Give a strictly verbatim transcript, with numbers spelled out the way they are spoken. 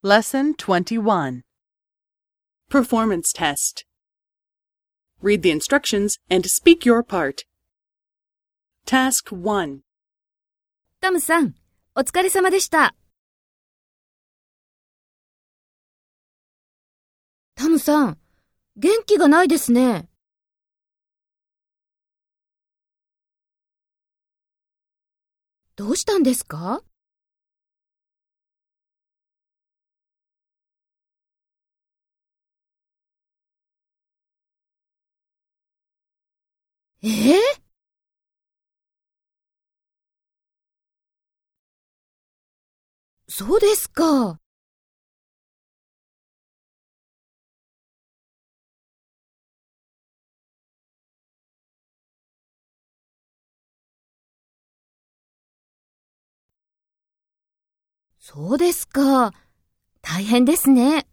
Lesson twenty-one. Performance Test. Read the instructions and speak your part. Task one. タムさん、お疲れ様でした。タムさん、元気がないですね。どうしたんですか？えー、そうですか。そうですか。大変ですね。